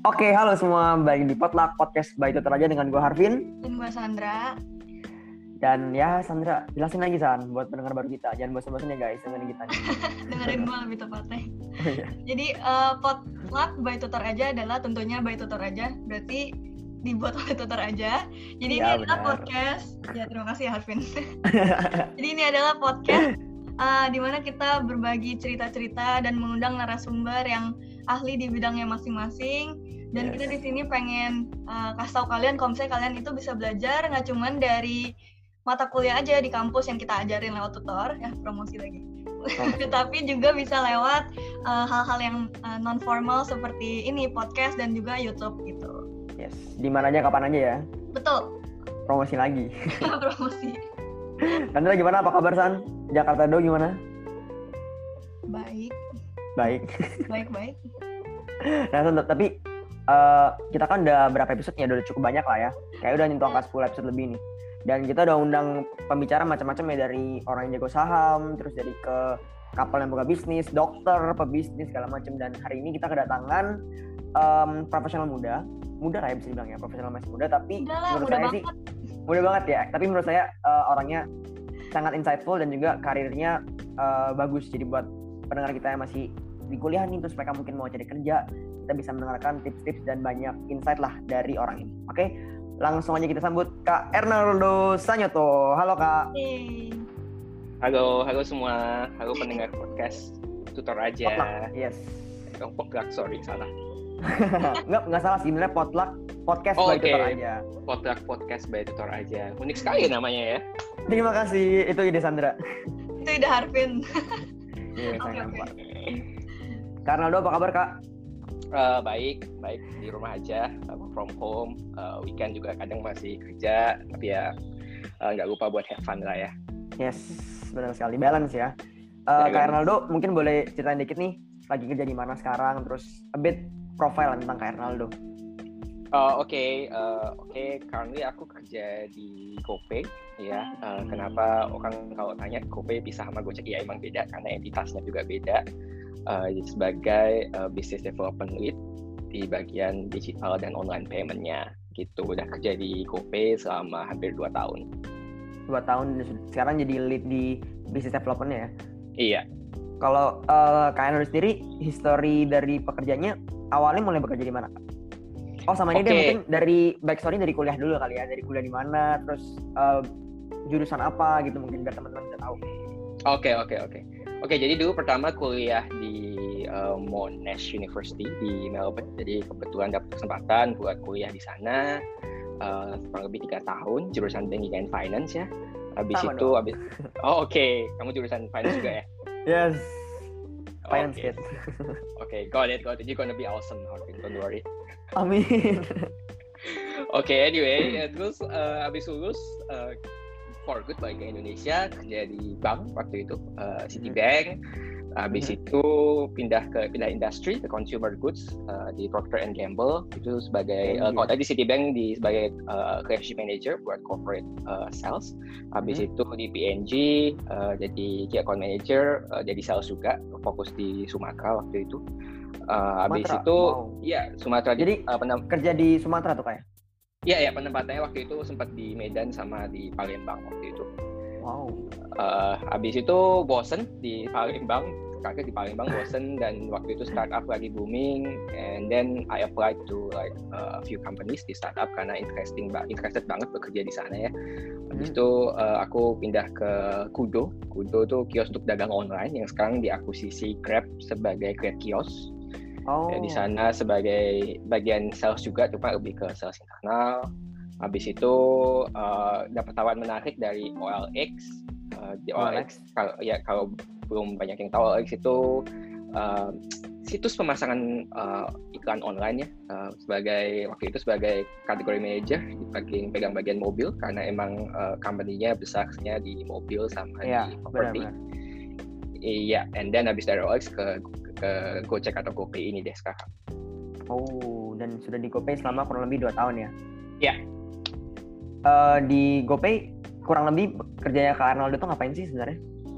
Oke, halo semua, balik di Potluck Podcast by Tutor Aja dengan gue Harvin. Dan gue Sandra. Dan ya Sandra, jelasin lagi San, buat pendengar baru kita. Jangan bosan-bosan ya guys, dengerin kita nih. Dengerin gue lebih tepatnya. Oh, iya. Jadi Potluck by Tutor Aja adalah tentunya by Tutor Aja. Berarti dibuat oleh Tutor Aja. Jadi Ya, ini adalah podcast. Ya terima kasih Harvin. Jadi ini adalah podcast di mana kita berbagi cerita-cerita dan mengundang narasumber yang ahli di bidangnya masing-masing. Dan kita di sini pengen kasih tahu kalian kalau misalnya kalian itu bisa belajar nggak cuman dari mata kuliah aja di kampus yang kita ajarin lewat tutor, ya promosi lagi. Tapi juga bisa lewat hal-hal yang non formal seperti ini podcast dan juga YouTube gitu. Yes, di mana aja kapan aja ya. Betul. Promosi lagi. Promosi. Sandra gimana? Apa kabar San? Jakarta Do gimana? Baik. Baik. Nah San, tapi kita kan udah berapa episode ya, udah cukup banyak lah ya. Kayak udah nyentuh angka 10 episode lebih nih. Dan kita udah undang pembicara macam-macam ya, dari orang yang jago saham, terus dari ke kapal yang buka bisnis, dokter, pebisnis segala macam. Dan hari ini kita kedatangan profesional muda lah ya bisa dibilang ya, profesional masih muda, tapi menurut saya sih muda banget ya. Tapi menurut saya orangnya sangat insightful dan juga karirnya bagus. Jadi buat pendengar kita yang masih di kuliah nih, terus mereka mungkin mau cari kerja, kita bisa mendengarkan tips-tips dan banyak insight lah dari orang ini. Oke, langsung aja kita sambut Kak Ernaldo Sanyoto. Halo Kak. Hey. Halo semua. Halo pendengar podcast Tutor Aja. Potluck, yes. Potluck, sorry, salah. Nggak salah sih, sebenarnya Potluck Podcast by Tutor Aja. Potluck Podcast by Tutor Aja. Unik sekali namanya ya. Terima kasih, itu ide Sandra. Itu ide Harvin. Iya, saya nampak. Kak Ernaldo, apa kabar Kak? Baik di rumah aja, work from home. Weekend juga kadang masih kerja, tapi ya nggak lupa buat have fun lah ya. Yes, benar sekali, balance ya. Kak Ernaldo mungkin boleh ceritain dikit nih, lagi kerja di mana sekarang, terus a bit profile tentang Kak Ernaldo. Oke. Currently aku kerja di GoPay ya. Kenapa orang kalau tanya GoPay bisa sama Gojek? Ya emang beda karena entitasnya juga beda. Sebagai business development lead di bagian digital dan online payment-nya gitu. Udah kerja di GoPay selama hampir 2 tahun. 2 tahun, sekarang jadi lead di business development-nya ya? Iya. Kalau Kak Ernaldo sendiri, history dari pekerjaannya awalnya mulai bekerja di mana Kak? Oh sama ini deh, mungkin dari backstory dari kuliah dulu kali ya, dari kuliah di mana, terus jurusan apa gitu mungkin biar teman-teman bisa tahu. Oke, jadi dulu pertama kuliah di Monash University di Melbourne. Jadi kebetulan dapat kesempatan buat kuliah di sana kurang lebih 3 tahun, jurusan Banking and Finance ya. Oke. Kamu jurusan Finance juga ya? Yes. Finance kid. Oke, got it. You're gonna be awesome, Harvin. Don't worry. Amin. Oke, anyway, terus abis lulus for good balik ke Indonesia, kerja di bank waktu itu, Citibank. Habis itu pindah industri ke consumer goods di Procter & Gamble itu sebagai kalau tadi Citibank sebagai relationship manager buat corporate sales. Habis itu di P&G jadi key account manager, jadi sales juga, fokus di Sumatera waktu itu. Habis itu Sumatera. Jadi kerja di Sumatera tuh kayak? Iya, penempatannya waktu itu sempat di Medan sama di Palembang waktu itu. Wow. Habis itu bosen di Palembang, kakek di Palembang bosen, dan waktu itu startup lagi booming, and then I applied to like a few companies di startup karena interested banget bekerja di sana ya. Habis itu aku pindah ke Kudo. Kudo tuh kios untuk dagang online yang sekarang diakuisisi Grab sebagai Grab Kios. Di sana sebagai bagian sales juga, cuma lebih ke sales internal. Habis itu dapat tawaran menarik dari OLX. Di OLX kalau belum banyak yang tahu, OLX itu situs pemasangan iklan online ya. Waktu itu sebagai kategori manager, pegang bagian mobil karena emang company-nya besarnya di mobil sama di property. Iya, and then habis dari OLX ke Gojek atau GoPay ini deh sekarang. Oh, dan sudah di GoPay selama kurang lebih 2 tahun ya? Iya. Di GoPay kurang lebih kerjanya Kak Ernaldo itu ngapain sih sebenarnya?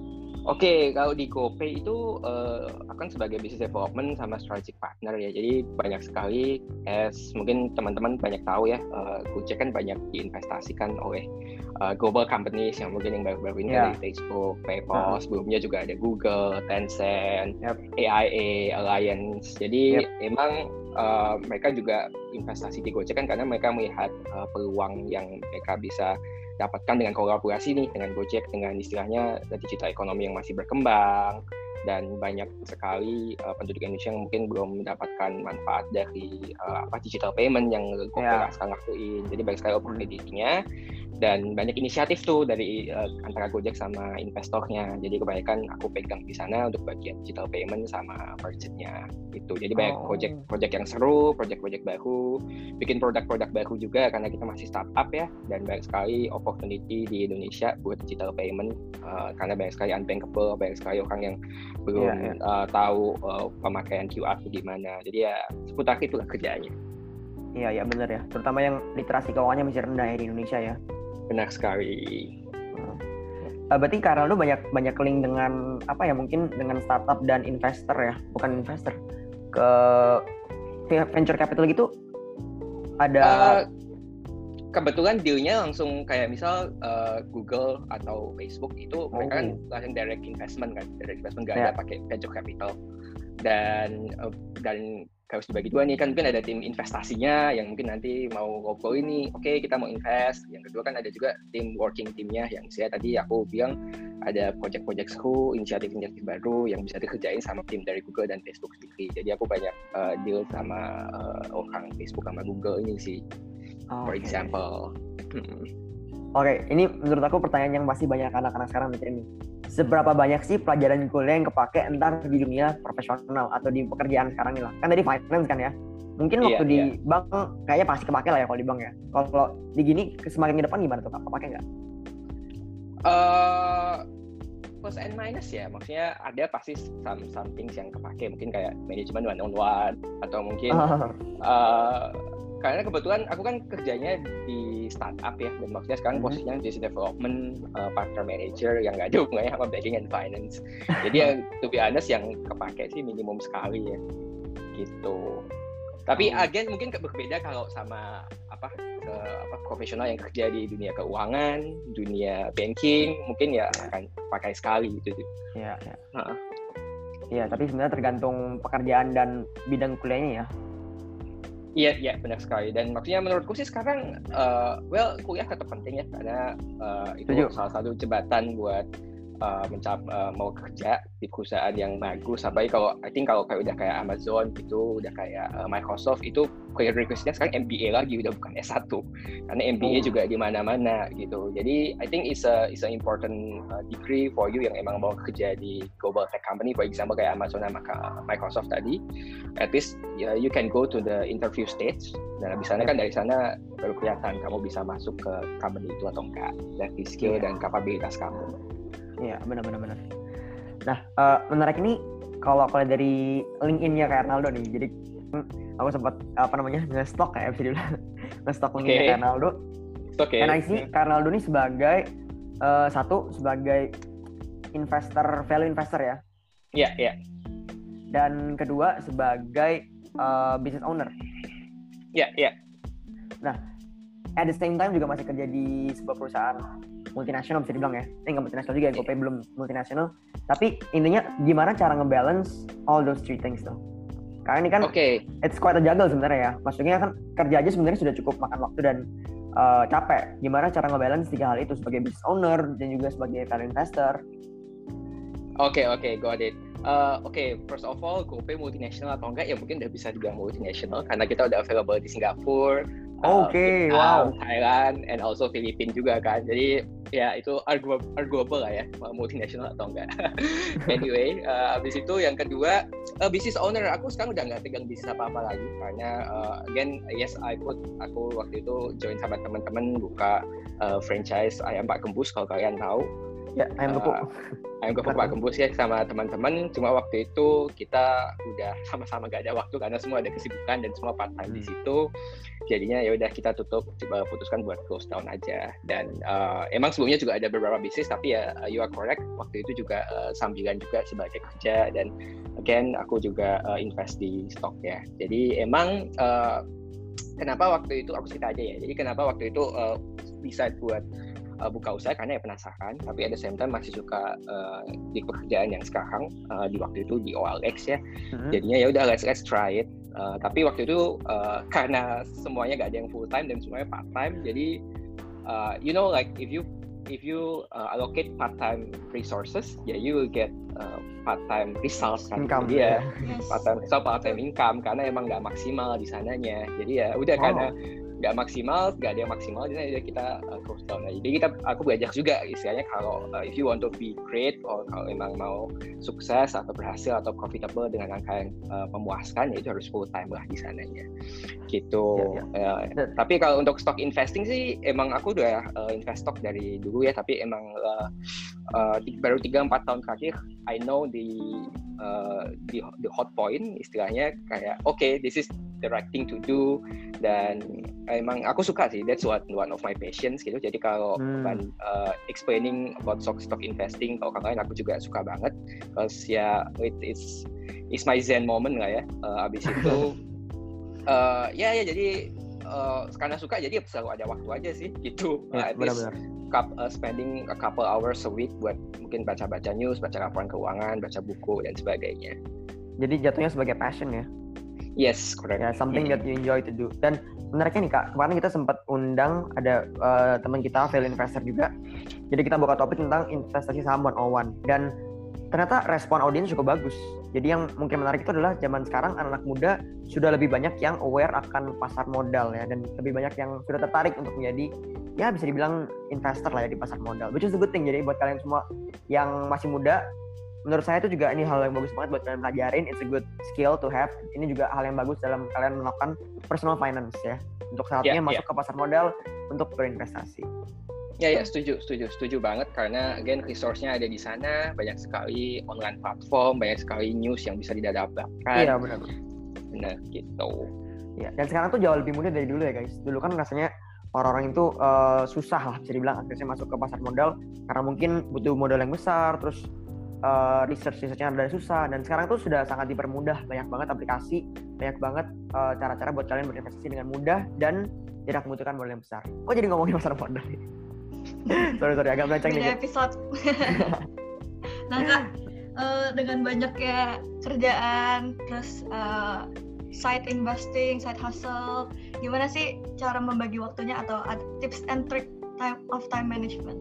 Oke, kalau di GoPay itu akan sebagai business development sama strategic partner ya. Jadi banyak sekali, mungkin teman-teman banyak tahu ya, Gojek kan banyak diinvestasikan oleh global companies yang mungkin yang baru-baru ini dari Facebook, PayPal, sebelumnya juga ada Google, Tencent, AIA, Alliance. Jadi emang mereka juga investasi di Gojek kan karena mereka melihat peluang yang mereka bisa dapatkan dengan kolaborasi nih dengan Gojek, dengan istilahnya digital ekonomi yang masih berkembang, dan banyak sekali penduduk Indonesia yang mungkin belum mendapatkan manfaat dari digital payment yang Gojek sekarang lakuin. Jadi banyak sekali opportunity-nya dan banyak inisiatif tuh dari antara Gojek sama investornya. Jadi kebanyakan aku pegang di sana untuk bagian digital payment sama merchant-nya gitu. Jadi banyak project yang seru, project baru, bikin produk-produk baru juga karena kita masih startup ya, dan banyak sekali opportunity di Indonesia buat digital payment karena banyak sekali unbankable, banyak sekali orang yang belum tahu pemakaian QR itu gimana. Jadi ya seputar itulah kerjaannya. Iya benar ya, terutama yang literasi keuangannya masih rendah ya di Indonesia ya. Benar sekali. Berarti karena lu banyak link dengan mungkin dengan startup dan investor ya, bukan investor, ke venture capital gitu ada. Kebetulan dealnya langsung kayak misal Google atau Facebook itu mereka kan langsung direct investment nggak ada pakai venture capital, dan harus dibagi dua nih kan, mungkin ada tim investasinya yang mungkin nanti mau ngobrol ini, oke, kita mau invest. Yang kedua kan ada juga tim working timnya yang saya tadi aku bilang ada project-project seru, inisiatif-inisiatif baru yang bisa dikerjain sama tim dari Google dan Facebook sendiri. Jadi aku banyak deal sama orang Facebook sama Google ini sih, for example. Oke, ini menurut aku pertanyaan yang masih banyak anak-anak sekarang mikirin nih. Seberapa banyak sih pelajaran kuliah yang kepake entar di dunia profesional atau di pekerjaan sekarang nih lah? Kan tadi finance kan ya. Mungkin waktu di bank kayaknya pasti kepake lah ya kalau di bank ya. Kalau di gini semakin ke depan gimana tuh Kak? Kepake nggak? Plus and minus ya. Maksudnya ada pasti some things yang kepake. Mungkin kayak manajemen one-on-one atau mungkin karena kebetulan aku kan kerjanya di startup ya, dan maksudnya sekarang posisinya business development partner manager yang nggak ada hubungannya sama banking and finance. Jadi ya to be honest yang kepake sih minimum sekali ya gitu. Tapi again mungkin berbeda kalau sama profesional yang kerja di dunia keuangan, dunia banking, mungkin ya akan pakai sekali gitu. Iya. Iya, tapi sebenarnya tergantung pekerjaan dan bidang kuliahnya ya. Iya benar sekali, dan maksudnya menurutku sih sekarang kuliah tetap penting ya karena itu salah satu jembatan buat mau kerja di perusahaan yang bagus. Sampai kalau kayak udah kayak Amazon gitu, udah kayak Microsoft itu career request-nya sekarang MBA lagi, udah bukan S1 karena MBA juga di mana-mana gitu. Jadi I think it's an important degree for you yang emang mau kerja di global tech company, for example kayak Amazon sama Microsoft tadi. At least you can go to the interview stage, dan abis sana kan dari sana baru kelihatan kamu bisa masuk ke company itu atau enggak dari skill dan kapabilitas kamu. Iya, benar. Nah, menarik ini kalau dari LinkedIn-nya kayak Arnaldo nih. Jadi aku sempat nge-stalk kayak bisa dibilang nge-stalk LinkedIn kayak Arnaldo. Dan I see Arnaldo ini sebagai sebagai value investor ya. Iya. Dan kedua sebagai business owner. Iya. Nah, at the same time juga masih kerja di sebuah perusahaan multinasional bisa dibilang ya. Nggak multinasional juga, GoPay belum multinasional. Tapi intinya gimana cara ngebalance all those three things tuh? Karena ini kan it's quite a juggle sebenarnya ya. Maksudnya kan kerja aja sebenarnya sudah cukup makan waktu dan capek. Gimana cara ngebalance tiga hal itu sebagai business owner dan juga sebagai value investor? Oke, got it. First of all, GoPay multinasional atau enggak ya mungkin udah bisa dibilang multinasional karena kita udah available di Singapura, Vietnam, Thailand, and also Filipina juga kan. Jadi ya itu arguable lah ya, multinasional atau enggak. Anyway, abis itu yang kedua, business owner. Aku sekarang udah nggak pegang bisnis apa-apa lagi karena again, aku waktu itu join sama teman-teman buka franchise ayam Pak Gembus kalau kalian tahu. Ya, ayam gepuk. Ayam gepuk Pak Gembus ya sama teman-teman. Cuma waktu itu kita udah sama-sama gak ada waktu karena semua ada kesibukan dan semua part time di situ. Jadinya ya udah kita putuskan buat close down aja. Dan emang sebelumnya juga ada beberapa bisnis, tapi ya you are correct. Waktu itu juga sambilan juga sebagai kerja, dan again aku juga invest di stock ya. Jadi emang kenapa waktu itu aku cerita aja ya. Jadi kenapa waktu itu decide buat buka usaha karena ya penasaran, tapi at the same time masih suka di pekerjaan yang sekarang di waktu itu di OLX ya. Jadinya ya udah let's try it. Tapi waktu itu karena semuanya gak ada yang full time dan semuanya part time, jadi you know like if you allocate part time resources, ya you will get part time results kan. Income, jadi ya part time income karena emang nggak maksimal di sananya. Jadi ya udah karena nggak ada yang maksimal, jadi kita close down aja. Jadi aku belajar juga istilahnya kalau if you want to be great, or kalau emang mau sukses atau berhasil atau profitable dengan angka yang memuaskan, ya itu harus full time lah di sananya gitu. Tapi kalau untuk stock investing sih emang aku udah invest stock dari dulu ya, tapi emang baru 3-4 tahun terakhir I know the hot point istilahnya, kayak okay, this is the right thing to do, dan emang aku suka sih, that's one of my passions gitu. Jadi kalau explaining about stock investing kalau kalian, aku juga suka banget, because ya it's my zen moment lah ya. Abis itu jadi karena suka jadi selalu ada waktu aja sih gitu. At least spending a couple hours a week buat mungkin baca-baca news, baca laporan keuangan, baca buku dan sebagainya. Jadi jatuhnya sebagai passion ya? Yes, correct. Ya, something that you enjoy to do. Dan menariknya nih Kak, kemarin kita sempat undang ada teman kita, value investor juga. Jadi kita buka topik tentang investasi saham 101. Dan ternyata respon audiens cukup bagus. Jadi yang mungkin menarik itu adalah zaman sekarang anak-anak muda sudah lebih banyak yang aware akan pasar modal ya, dan lebih banyak yang sudah tertarik untuk menjadi, ya bisa dibilang investor lah ya di pasar modal, which is a good thing. Jadi buat kalian semua yang masih muda, menurut saya itu juga ini hal yang bagus banget buat kalian pelajarin. It's a good skill to have. Ini juga hal yang bagus dalam kalian melakukan personal finance ya, untuk saatnya masuk ke pasar modal untuk berinvestasi. Ya, setuju banget, karena again resource-nya ada di sana, banyak sekali online platform, banyak sekali news yang bisa didapatkan. Iya, benar gitu. Ya, dan sekarang tuh jauh lebih mudah dari dulu ya guys. Dulu kan rasanya orang-orang itu susah lah bisa dibilang akhirnya masuk ke pasar modal, karena mungkin butuh modal yang besar, terus research-nya ada susah. Dan sekarang tuh sudah sangat dipermudah, banyak banget aplikasi, banyak banget cara-cara buat kalian berinvestasi dengan mudah dan tidak membutuhkan modal yang besar. Kok jadi ngomongin pasar modal? sorry agak melenceng nih. Beda episode. Nah Kak, dengan banyaknya kerjaan, terus side investing, side hustle, gimana sih cara membagi waktunya, atau tips and trick of time management?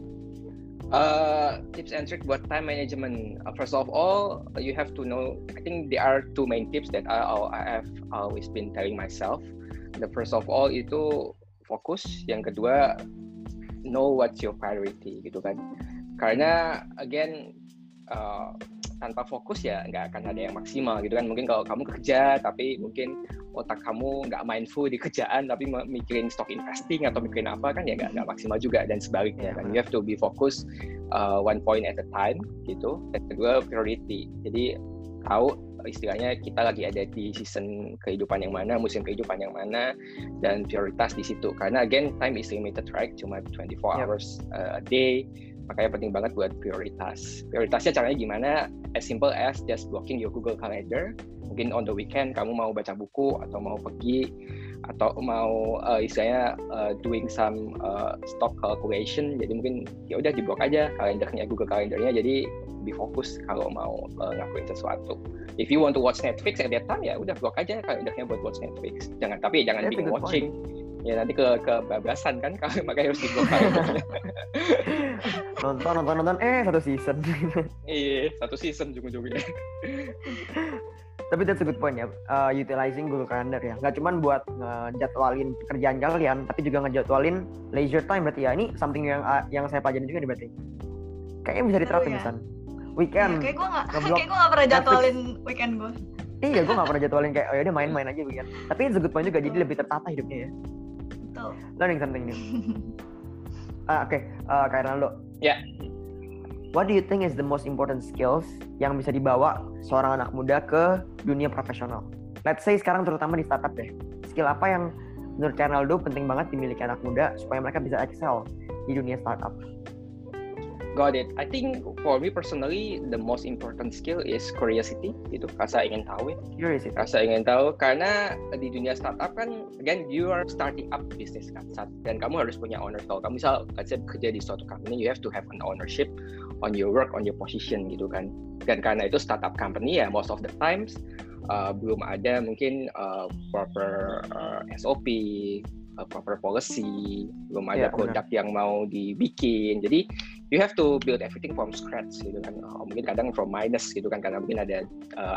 Tips and trick buat time management. First of all, you have to know, I think there are two main tips that I have always been telling myself. The first of all itu fokus, yang kedua know what's your priority gitu kan. Karena again tanpa fokus ya nggak akan ada yang maksimal gitu kan. Mungkin kalau kamu kerja tapi mungkin otak kamu nggak mindful di kerjaan tapi mikirin stock investing atau mikirin apa, kan ya nggak maksimal juga, dan sebaliknya kan. You have to be focused one point at a time gitu. Dan kedua priority. Jadi tahu istilahnya kita lagi ada di season kehidupan yang mana, musim kehidupan yang mana, dan prioritas di situ. Karena again time is limited, right? Cuma 24 hours a day. Makanya penting banget buat prioritas. Prioritasnya caranya gimana? As simple as just blocking your Google Calendar. Mungkin on the weekend kamu mau baca buku atau mau pergi atau mau istilahnya doing some stock calculation. Jadi mungkin ya udah diblok aja kalendernya, Google Calendarnya. Jadi lebih fokus kalau mau ngakuin sesuatu. If you want to watch Netflix at that time, ya udah blok aja kalendernya buat watch Netflix. Jangan binge watching. Ya nanti kebablasan kan, makanya harus diblok kalendernya. nonton satu season. Iya, satu season ujung-ujungnya. Tapi that's a good point ya, utilizing Google Calendar ya. Nggak cuma buat ngejadwalin pekerjaan kalian, tapi juga ngejadwalin leisure time berarti ya. Ini something yang saya pelajarin juga nih berarti. Kayaknya bisa diterapin misalnya. Weekend. Kayak gue nggak pernah jadwalin weekend gue. Iya, gue nggak pernah jadwalin kayak oh ya udah main-main aja weekend. Tapi it's a good point juga, jadi lebih tertata hidupnya ya. Betul. Learning something new. Oke, Kak Ronaldo. Ya. what do you think is the most important skills yang bisa dibawa seorang anak muda ke dunia profesional? Let's say sekarang terutama di startup deh. Skill apa yang menurut Arnaldo penting banget dimiliki anak muda supaya mereka bisa excel di dunia startup? Got it. I think for me personally, the most important skill is curiosity. Itu rasa ingin tahu ya. Curiosity. Rasa ingin tahu karena di dunia startup kan, again you are starting up business kan, dan kamu harus punya owner. Kalau kamu misal kerja di suatu company, you have to have an ownership on your work, on your position gitu kan. Dan karena itu startup company ya, most of the times belum ada mungkin proper SOP, proper policy, belum ada produk yang mau dibikin. Jadi you have to build everything from scratch gitu kan. Mungkin kadang from minus gitu kan, karena mungkin ada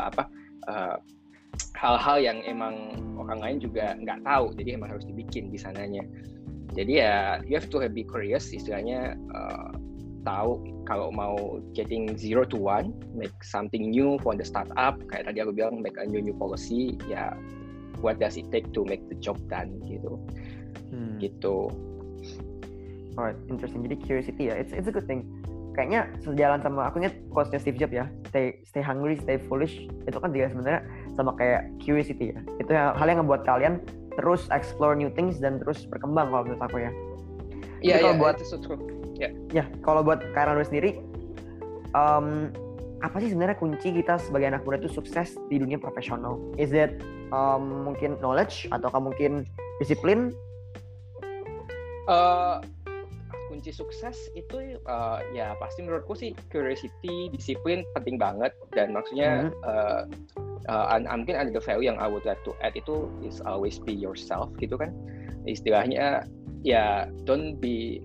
hal-hal yang emang orang lain juga nggak tahu, jadi emang harus dibikin di sananya. Jadi ya you have to be curious, istilahnya tahu kalau mau getting 0 to 1, make something new for the startup. Kayak tadi aku bilang, make a new policy, ya what does it take to make the job done gitu. Gitu. Alright, interesting. Jadi curiosity ya, it's a good thing. Kayaknya sejalan sama, aku ingat quotes-nya Steve Jobs ya, stay hungry, stay foolish. Itu kan juga sebenarnya sama kayak curiosity ya. Itu hal yang ngebuat kalian terus explore new things dan terus berkembang kalau menurut aku ya. Iya, buat itu so true. Ya, kalau buat Kak Arnaldo sendiri, apa sih sebenarnya kunci kita sebagai anak muda itu sukses di dunia profesional? Is it mungkin knowledge ataukah mungkin disiplin? Kunci sukses itu ya pasti menurutku sih curiosity, disiplin penting banget. Dan maksudnya mungkin ada the value yang I would like to add itu is always be yourself gitu kan. Istilahnya ya don't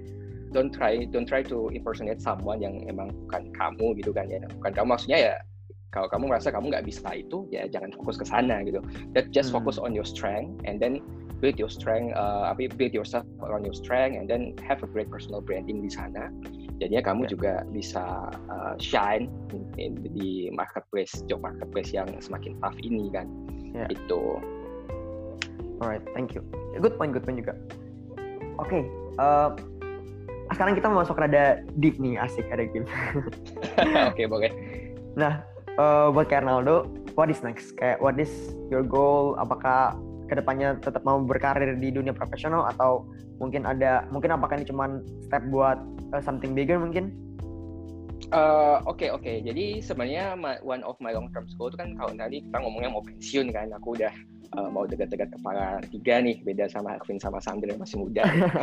try to impersonate someone yang emang bukan kamu gitu kan ya. Bukan kamu, maksudnya ya kalau kamu merasa kamu nggak bisa itu, ya jangan fokus ke sana gitu. Just focus on your strength and then build your strength, build yourself around your strength and then have a great personal branding di sana. Jadinya kamu juga bisa shine di marketplace, job marketplace yang semakin tough ini kan. Itu. Alright, thank you. Good point juga. Oke, sekarang kita mau masuk rada deep nih, asik ada game. Oke, boleh. Nah, buat Kak Arnaldo, what is next? Kayak what is your goal? Apakah kedepannya tetap mau berkarir di dunia profesional atau mungkin apakah ini cuma step buat something bigger mungkin? Oke. Jadi sebenarnya one of my long term goal itu kan, kalau tadi kita ngomongnya mau pensiun kan, aku udah mau dekat-dekat kepala 3 nih, beda sama Arvin sama Sandra yang masih muda.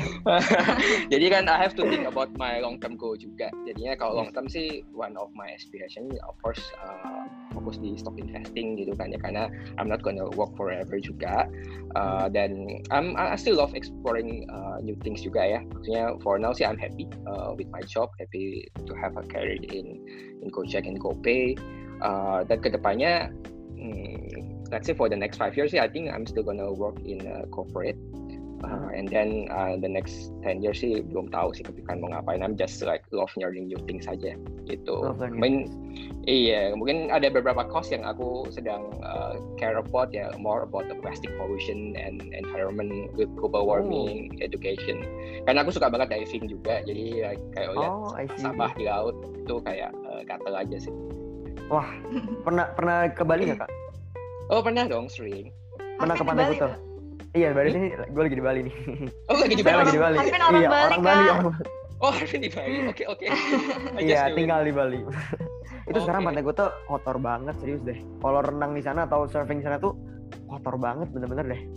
Jadi kan I have to think about my long term goal juga. Jadinya kalau long term sih one of my aspiration of course fokus di stock investing gitu kan ya, karena I'm not gonna work forever juga. Dan I still love exploring new things juga ya. Maksudnya for now sih I'm happy with my job, happy to have a career in Gojek and GoPay. Dan kedepannya let's say for the next 5 years, I think I'm still gonna work in corporate, and then the next 10 years sih belum tahu sih kepikiran mau ngapain. I'm just like love learning new things aja gitu. Mungkin ada beberapa course yang aku sedang care about ya, more about the plastic pollution and environment with global warming, education. Karena aku suka banget diving juga, jadi kayak lihat sampah di laut itu kayak gatel aja sih. Wah, pernah ke Bali nggak Kak? Oh, pernah dong, sering. Pernah ke Pantai Kuta? Iya, Bali ini gue lagi di Bali nih. Oh, lagi di Bali. Arvin orang Bali, orang Bali. Oh, Arvin di Bali. Oke. Iya, tinggal di Bali. Itu sekarang Pantai Kuta kotor banget, serius deh. Kalau renang di sana atau surfing di sana tuh kotor banget, bener-bener deh.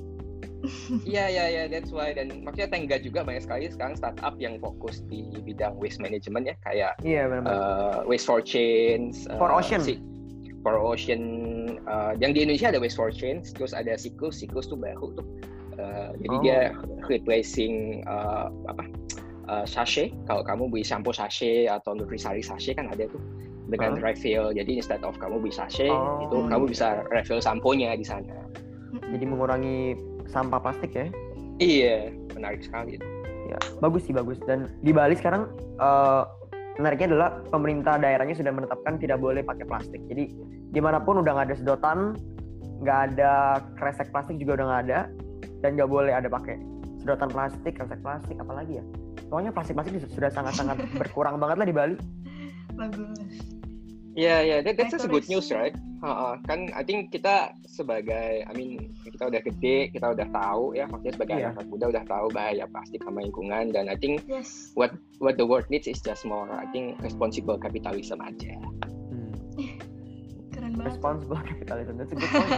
Iya, that's why. Dan maksudnya thank God juga banyak sekali sekarang startup yang fokus di bidang waste management ya, kayak waste for change, for ocean. Yang di Indonesia ada Waste for Change, terus ada Siklus tuh baru tuh. Jadi dia replacing sachet. Kalau kamu beli shampoo sachet atau Nutrisari sachet kan ada tuh dengan refill. Jadi instead of kamu beli sachet, itu kamu bisa refill samponya di sana. Jadi mengurangi sampah plastik ya? Iya, menarik sekali. Ya, bagus. Dan di Bali sekarang menariknya adalah pemerintah daerahnya sudah menetapkan tidak boleh pakai plastik. Jadi dimanapun udah nggak ada sedotan, nggak ada kresek plastik juga udah nggak ada, dan nggak boleh ada pakai sedotan plastik, kresek plastik, apalagi ya. Pokoknya plastik sudah sangat-sangat berkurang banget lah di Bali. Bagus. Yeah, that's a good Nice. news, right? Kan I think kita sebagai, kita udah gede, kita udah tahu ya, maksudnya sebagai anak muda udah tahu bahaya plastik sama lingkungan, dan I think Yes. what the world needs is just more, I think, responsible capitalism aja. Keren banget. Responsible capitalism, that's a good point.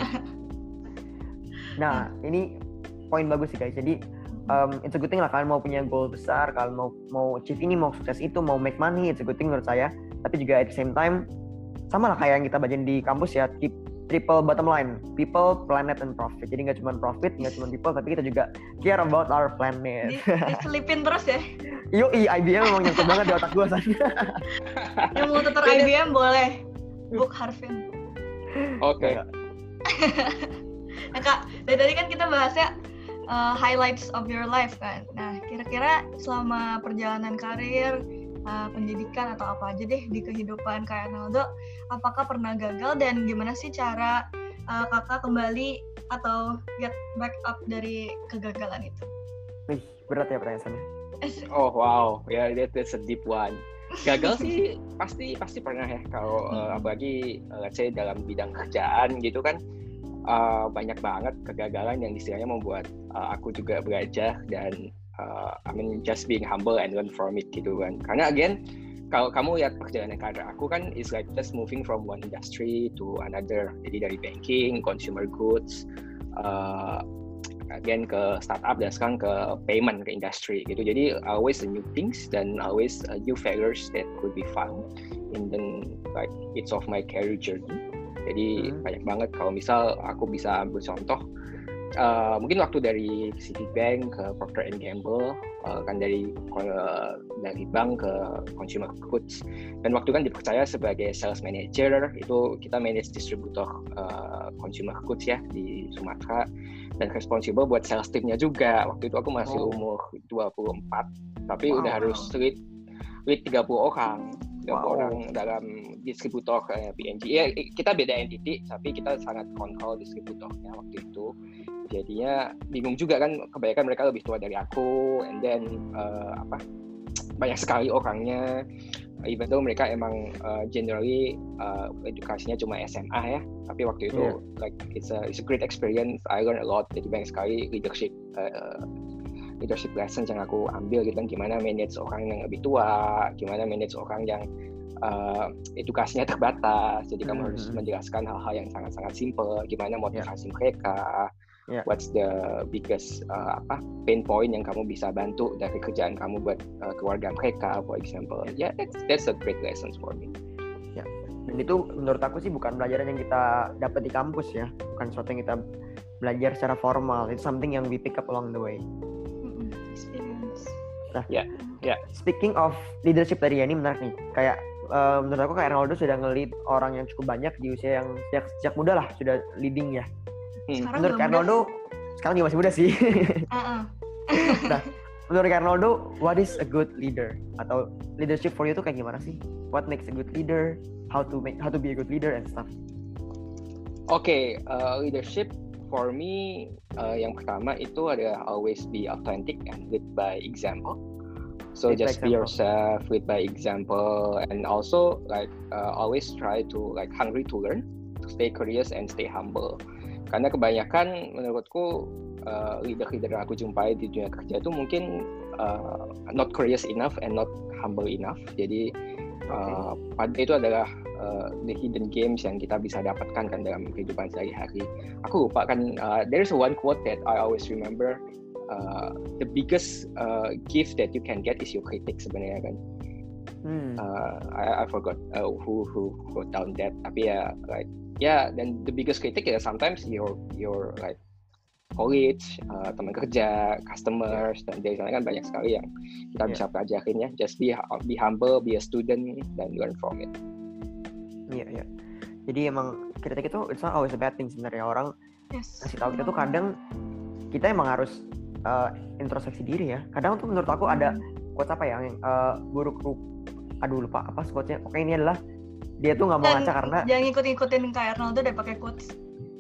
Nah, ini poin bagus sih guys. Jadi it's a good thing lah kalian mau punya goal besar, kalian mau achieve ini, mau sukses itu, mau make money, it's a good thing menurut saya. Tapi juga at the same time sama lah kayak yang kita bacain di kampus ya, keep triple bottom line, people, planet, and profit. Jadi nggak cuma profit, nggak cuma people, tapi kita juga care about our planet. Diselipin terus ya. Yoi, IBM memang nyangkut banget di otak gue sana. Yang mau tutor IBM boleh book Harvin. Oke. Nah Kak, dari tadi kan kita bahasnya highlights of your life kan. Nah, kira-kira selama perjalanan karir, pendidikan atau apa aja deh di kehidupan Kak Arnoldo, apakah pernah gagal dan gimana sih cara kakak kembali atau get back up dari kegagalan itu? Wih, berat ya pertanyaannya. Oh wow, ya that's a deep one. Gagal sih pasti pernah ya, kalau apalagi let's say dalam bidang kerjaan gitu kan, banyak banget kegagalan yang istilahnya membuat aku juga belajar dan just being humble and learn from it gitu kan. Karena again, kalau kamu lihat perjalanan karir aku kan is like just moving from one industry to another. Jadi dari banking, consumer goods, again ke startup dan sekarang ke payment, ke industry gitu. Jadi always new things dan always new failures that could be found in the like it's of my career journey. Jadi banyak banget. Kalau misal aku bisa ambil contoh, mungkin waktu dari Citibank ke Procter & Gamble, kan dari bank ke consumer goods, dan waktu kan dipercaya sebagai sales manager, itu kita manage distributor consumer goods ya di Sumatera, dan responsible buat sales teamnya juga. Waktu itu aku masih umur 24, tapi udah harus lead 30 orang. Orang dalam distributor P&G. Ya, kita beda entity, tapi kita sangat kontrol distributornya waktu itu. Jadinya bingung juga kan, kebanyakan mereka lebih tua dari aku, and then banyak sekali orangnya. Even though mereka emang generally edukasinya cuma SMA ya, tapi waktu itu like it's a great experience. I learned a lot. Jadi banyak sekali leadership lessons yang aku ambil gitu kan, gimana manage orang yang lebih tua, gimana manage orang yang edukasinya terbatas, jadi kamu harus menjelaskan hal-hal yang sangat-sangat simple, gimana motivasi mereka, what's the biggest pain point yang kamu bisa bantu dari kerjaan kamu buat keluarga mereka, for example. That's a great lessons for me. Dan itu menurut aku sih bukan pelajaran yang kita dapat di kampus ya, bukan sesuatu yang kita belajar secara formal, it's something yang we pick up along the way. Experience. Nah, speaking of leadership tadi ya, ini menarik nih. Kayak menurut aku Kak Arnoldo sudah nge-lead orang yang cukup banyak di usia yang sejak muda lah, sudah leading ya. Menurut Kak Arnoldo, sekarang juga masih muda sih. Nah, menurut Kak Arnoldo, what is a good leader? Atau leadership for you tuh kayak gimana sih? What makes a good leader? How to be a good leader and stuff. Okay, leadership for me, yang pertama itu adalah always be authentic and lead by example. So just be yourself, lead by example, and also like always try to like hungry to learn, to stay curious and stay humble. Karena kebanyakan menurutku leader-leader yang aku jumpai di dunia kerja itu mungkin not curious enough and not humble enough. Jadi pada itu adalah the hidden games yang kita bisa dapatkan kan dalam kehidupan sehari-hari. Aku lupa kan, there's one quote that I always remember, the biggest gift that you can get is your critic sebenarnya kan. I forgot who wrote down that, tapi ya like then the biggest critic ya sometimes your like college, teman kerja, customers, dan dari sana kan banyak sekali yang kita bisa pelajarin ya. Just be humble, be a student, dan learn from it. Iya. Jadi emang kritik itu it's not always a bad thing sebenarnya. Orang kasih tahu kita tuh kadang kita emang harus introspeksi diri ya. Kadang tuh menurut aku ada quotes apa ya yang lupa apa quotesnya. Oke, ini adalah dia tuh nggak mau ngaca karena jangan ngikutin Kak Arnoldo deh pakai quotes.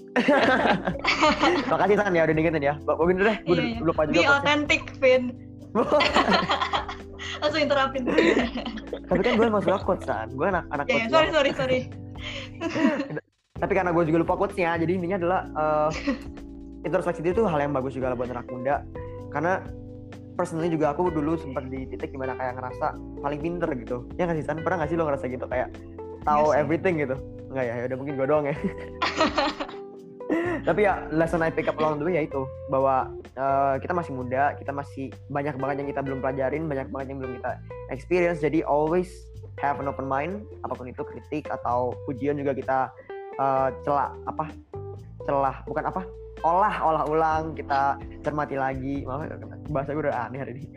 Makasih San ya udah ngingetin ya. Bener deh, gue lupa juga. Be authentic, Vin. Langsung interrupin. Tapi kan gue emang suka quotes kan. Gue anak Ya, quotes. sorry. Tapi karena gue juga lupa quotesnya, jadi intinya adalah introspeksi itu hal yang bagus juga lah buat anak muda. Karena personally juga aku dulu sempat di titik dimana kayak ngerasa paling pinter gitu. Ya nggak sih San? Pernah nggak sih lo ngerasa gitu kayak tahu everything gitu? Enggak ya, udah mungkin gue doang ya. Tapi ya lesson I pick up along the way ya itu bahwa kita masih muda, kita masih banyak banget yang kita belum pelajarin, banyak banget yang belum kita experience. Jadi always have an open mind, apapun itu kritik atau pujian juga kita olah ulang, kita cermati lagi. Bahasa gue udah aneh hari ini.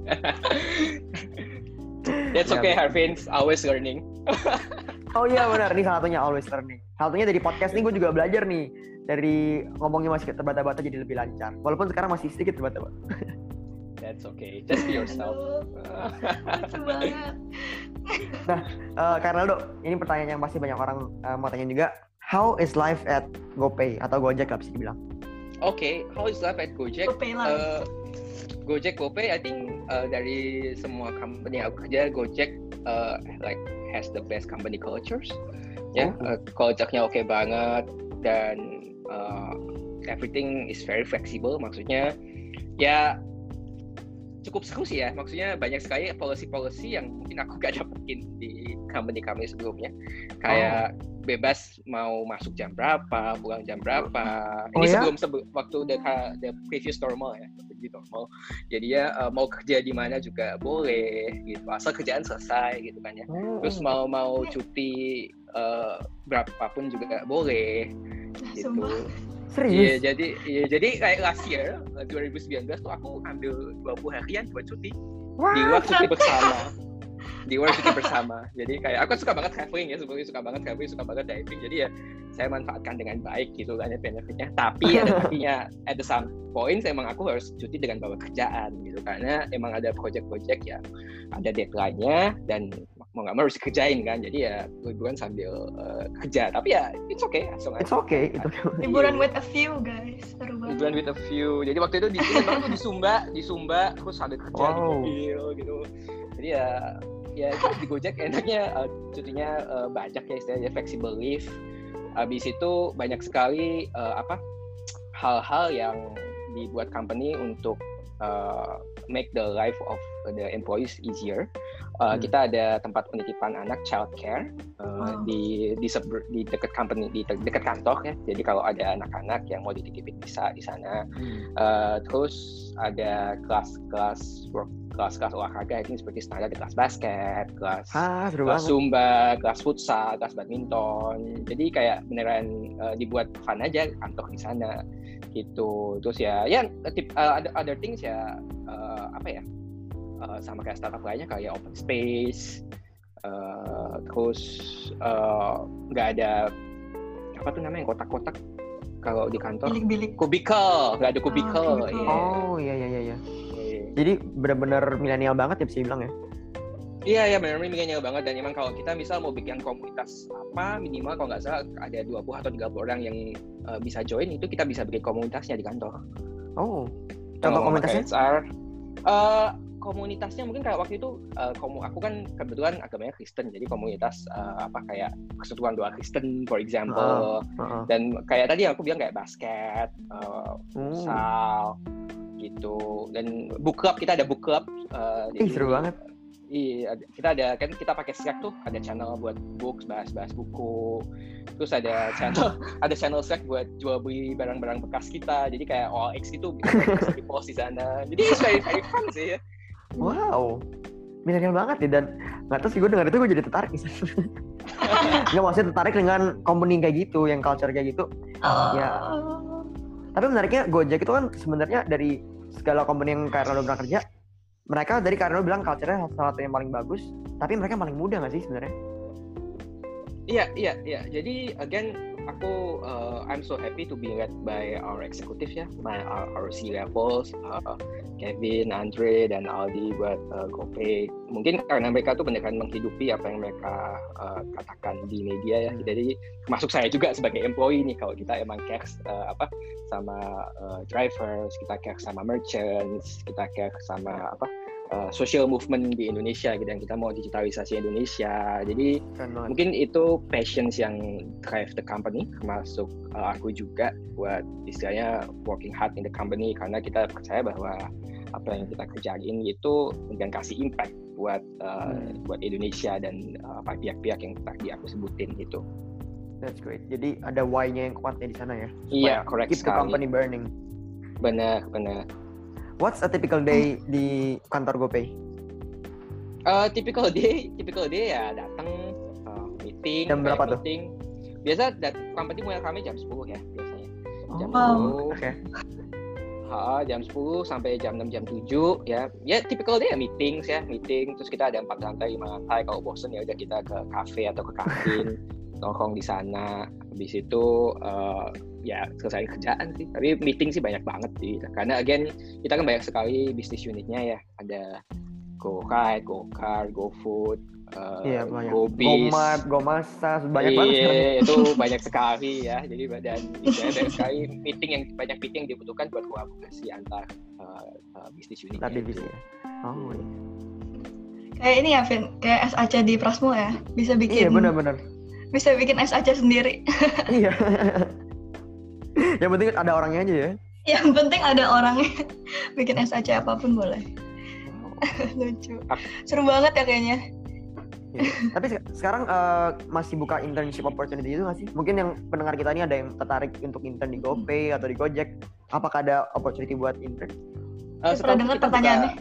That's okay, Harvin. Always learning. Oh iya benar, ini salah satunya always learning. Salah satunya dari podcast ini gue juga belajar nih. Dari ngomongnya masih terbata-bata jadi lebih lancar. Walaupun sekarang masih sedikit terbata-bata. That's okay. Just be yourself. Lucu banget. Nah, Kak Ronaldo, ini pertanyaan yang pasti banyak orang mau tanya juga. How is life at GoPay atau Gojek lah bisa dibilang? Okay, how is life at Gojek? GoPay, I think dari semua company yang aku kerja, Gojek like has the best company cultures. Culture-nya oke banget dan everything is very flexible. Maksudnya ya cukup seru sih ya. Maksudnya banyak sekali policy yang mungkin aku gak dapetin di company sebelumnya. Kayak bebas mau masuk jam berapa, pulang jam berapa. Ini sebelum waktu the previous normal ya, begitu normal. Jadi ya mau kerja di mana juga boleh gitu, asal kerjaan selesai gitu kan ya. Terus mau cuti berapapun juga boleh gitu. Serius? Iya, jadi kayak last year 2019 tuh aku ambil 20 harian buat cuti. Di luar cuti bersama. Jadi kayak aku suka banget traveling ya, suka banget diving. Jadi ya saya manfaatkan dengan baik gitu kan ya benefitnya. Tapi ada tapinya at the some point emang aku harus cuti dengan bawa kerjaan gitu. Karena emang ada project yang ada deadline-nya dan mau nggak mau harus dikerjain kan. Jadi ya liburan sambil kerja. Tapi ya it's okay. It's okay. Liburan with a few guys. Seru banget. Liburan with a few. Jadi waktu itu di Sumba terus sambil kerja di mobil gitu. Jadi ya di Gojek enaknya cutinya banyak ya, istilahnya flexible leave. Habis itu banyak sekali hal-hal yang dibuat company untuk make the life of the employees easier. Kita ada tempat penitipan anak, child care di dekat company, di dekat kantor ya. Jadi kalau ada anak-anak yang mau dititipin bisa di sana. Terus ada kelas olahraga ini seperti standar, kelas basket, kelas zumba, kelas futsal, kelas badminton. Jadi kayak beneran dibuat fun aja kantor di sana gitu. Terus ya other things ya sama kayak startup lainnya kayak open space. Terus nggak ada apa tuh namanya kotak-kotak kalau di kantor. Bilik-bilik. Kubikel, nggak ada kubikel. Oh iya. Jadi benar-benar milenial banget ya bisa dibilang ya? Iya benar-benar milenial banget. Dan emang kalau kita misal mau bikin komunitas minimal kalau nggak salah ada 20 atau 30 orang yang bisa join, itu kita bisa bikin komunitasnya di kantor. Oh, contoh komunitasnya? Komunitasnya mungkin kayak waktu itu aku kan kebetulan agamanya Kristen, jadi komunitas kayak persatuan doa Kristen for example. Dan kayak tadi aku bilang kayak basket, futsal gitu. Dan book club, kita ada book club. Seru banget. Iya, kita pakai Slack tuh, ada channel buat books, bahas buku. Terus ada channel Slack buat jual beli barang-barang bekas kita. Jadi kayak OLX gitu bisa di-post di sana. Jadi it's very fun sih ya. Wow, milenial banget nih. Dan nggak tahu sih, gue dengar itu gue jadi tertarik. Nggak, maksudnya tertarik dengan company kayak gitu, yang culture kayak gitu. Ya. Tapi menariknya Gojek itu kan sebenarnya dari segala company yang Kak Ronaldo pernah kerja, mereka dari Kak Ronaldo bilang culture-nya salah satu yang paling bagus, tapi mereka paling muda nggak sih sebenarnya? Iya. Jadi again aku I'm so happy to be led by our executive ya, our C levels, Kevin, Andre, dan Aldi buat GoPay. Mungkin karena mereka tuh beneran menghidupi apa yang mereka katakan di media ya. Jadi termasuk saya juga sebagai employee nih, kalau kita emang care sama drivers, kita care sama merchants, kita care sama social movement di Indonesia gitu, yang kita mau digitalisasi Indonesia. Jadi mungkin itu passions yang drive the company, termasuk aku juga buat istilahnya working hard in the company, karena kita percaya bahwa apa yang kita kerjain itu dan kasih impact buat Indonesia dan pihak-pihak yang tadi aku sebutin gitu. That's great. Jadi ada why-nya yang kuatnya di sana ya. Iya, correct keep the company burning. Benar. What's a typical day di kantor GoPay? Typical day ya datang meeting. Jam berapa tuh? Biasa company mulai kami jam 10 ya biasanya. Jam 10. Okay. Jam 10 sampai jam 6 jam 7 ya. Ya typical day ya meeting. Terus kita ada 4 lantai, 5 lantai. Kalau bosen ya udah kita ke cafe atau ke kantin. Nongkrong di sana. Habis itu ya selesai kerjaan sih. Tapi meeting sih banyak banget sih. Karena again kita kan banyak sekali bisnis unitnya ya. Ada GoRide, GoCar, GoFood, GoBiz, GoMart, GoMasa, banyak banget. Iya, itu banyak sekali ya. Jadi dan banyak sekali banyak meeting yang dibutuhkan buat kolaborasi antar bisnis unit. Divisi ya. Oh iya. Kayak ini ya, Vin, kayak SAC di Prasmo ya, bisa bikin. Iya benar. Bisa bikin SAC sendiri. Iya. Yang penting ada orangnya aja ya. Yang penting ada orangnya. Bikin SAC apapun boleh. Lucu. Seru banget ya kayaknya. Ya. Tapi sekarang masih buka internship opportunity itu nggak sih? Mungkin yang pendengar kita ini ada yang tertarik untuk intern di GoPay atau di Gojek. Apakah ada opportunity buat intern? Pernah dengar pertanyaannya?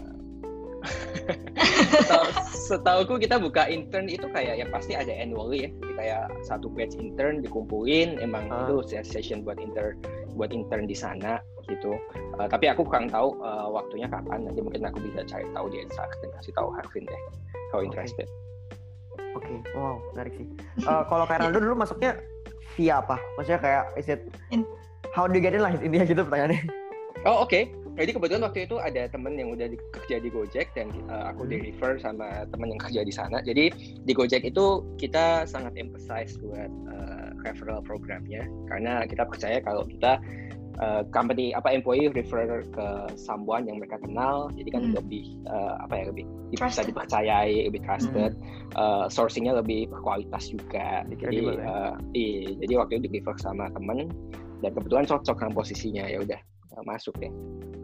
Setauku kita buka intern itu kayak ya pasti ada annually ya. Jadi kayak satu batch intern dikumpulin, emang itu session buat intern di sana gitu. Tapi aku kurang tahu waktunya kapan. Nanti mungkin aku bisa cari tahu di Instagram dan kasih tahu Harvin deh kalau interested. Oke. Wow, menarik sih. Kalau kayak Ronaldo dulu masuknya via apa? Maksudnya kayak how do you get in lah intinya gitu pertanyaannya. Oh oke. Jadi kebetulan waktu itu ada temen yang udah kerja di Gojek dan aku di-refer sama temen yang kerja di sana. Jadi di Gojek itu kita sangat emphasize buat referral programnya, karena kita percaya kalau kita company employee refer ke someone yang mereka kenal, jadi kan lebih lebih bisa dipercayai, lebih trusted, sourcingnya lebih berkualitas juga. Jadi waktu itu di-refer sama temen dan kebetulan cocok sama posisinya, ya udah masuk deh.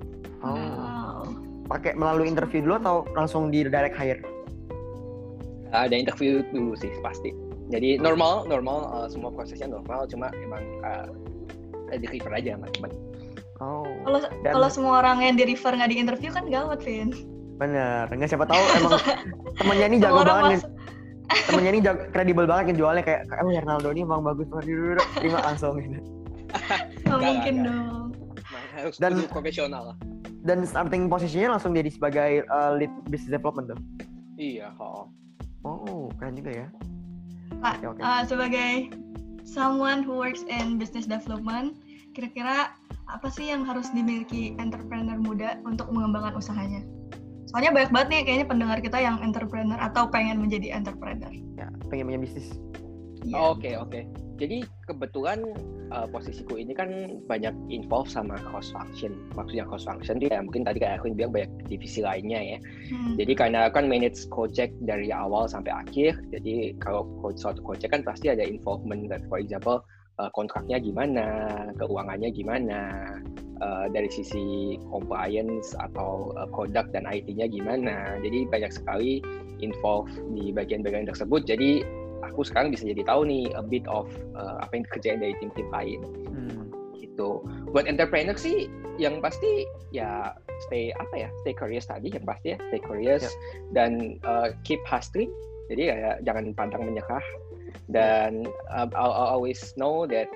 Pakai melalui interview dulu atau langsung di direct hire? Ada interview dulu sih pasti. Jadi normal semua prosesnya normal, cuma emang di refer aja sama teman. Kalau semua orang yang di refer nggak di interview kan gawat, Vin. Bener, nggak siapa tahu emang temennya ini jago banget. Temennya ini kredibel banget yang jualnya kayak Ronaldo ini emang bagus banget, terima langsung gitu. Nggak mungkin dong. Harus profesional lah. Dan starting posisinya langsung jadi sebagai lead business development tuh. Iya. Oh, keren juga ya. Pak, sebagai someone who works in business development, kira-kira apa sih yang harus dimiliki entrepreneur muda untuk mengembangkan usahanya? Soalnya banyak banget nih kayaknya pendengar kita yang entrepreneur atau pengen menjadi entrepreneur. Ya, pengen punya bisnis. Yeah. Oke. Jadi kebetulan posisiku ini kan banyak involve sama cross function. Maksudnya cross function dia mungkin tadi kayak aku bilang banyak divisi lainnya ya. Jadi karena kan manage Gojek dari awal sampai akhir. Jadi kalau suatu Gojek kan pasti ada involvement, for example kontraknya gimana, keuangannya gimana, dari sisi compliance atau product dan IT-nya gimana. Jadi banyak sekali involve di bagian-bagian tersebut. Jadi aku sekarang bisa jadi tahu nih a bit of apa yang dikerjain dari tim-tim lain. Gitu. Buat entrepreneur sih yang pasti ya stay curious tadi yang pasti ya, stay curious dan keep hustling. Jadi kayak jangan pantang menyerah. Dan I'll always know that